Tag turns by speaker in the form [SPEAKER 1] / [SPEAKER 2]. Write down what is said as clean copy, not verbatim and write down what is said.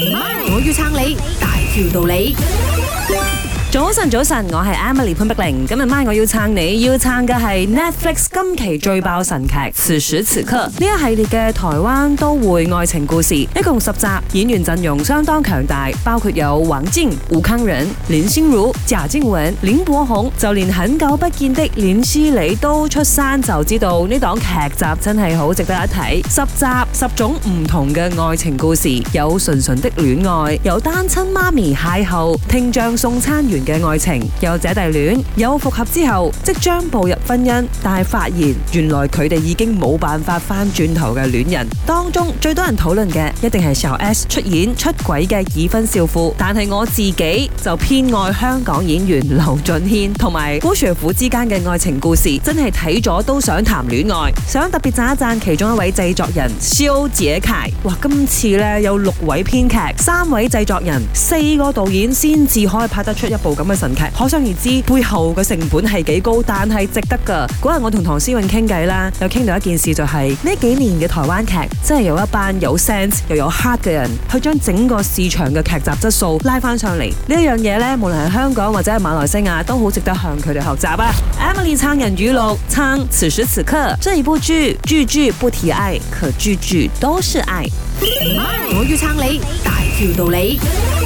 [SPEAKER 1] 我要撐你，大條道理。
[SPEAKER 2] 早晨，我係 Emily 潘碧玲。今日晚我要撐你，要撐嘅係 Netflix 今期最爆神劇《此時此刻》呢一系列嘅台灣都會愛情故事，一共10集，演員陣容相當強大，包括有王淨、吳慷仁、林心如、賈靜雯、林柏宏，就連很久不見的連詩妮都出山，就知道呢檔劇集真係好值得一睇。10集10種唔同嘅愛情故事，有純純的戀愛，有單親媽咪邂逅聽障送餐員嘅愛情，有姐弟戀，有復合之後即將步入婚姻，但係發現原來佢哋已經冇辦法翻轉頭嘅戀人。當中最多人討論嘅一定係小 S 出演出軌嘅已婚少婦，但係我自己就偏愛香港演員劉俊謙同埋郭雪芙之間嘅愛情故事，真係睇咗都想談戀愛。想特別讚一讚其中一位製作人蕭傑楷，哇！今次呢有6位編劇、3位製作人、4個導演先至可以拍得出一部咁嘅神劇，可想而知背後嘅成本係幾高，但係值得噶。嗰日我同唐詩詠傾偈啦，有傾到一件事，就係呢幾年嘅台灣劇真係有一班有 sense 又有 heart 嘅人，去將整個市場嘅劇集質素拉翻上嚟。呢一樣嘢呢，無論係香港或者係馬來西亞，都好值得向佢哋學習啊。Emily 撐人語錄，撐此時此刻，這一部劇句句不提愛，可句句都是愛。
[SPEAKER 1] 我要撐你，大條道理。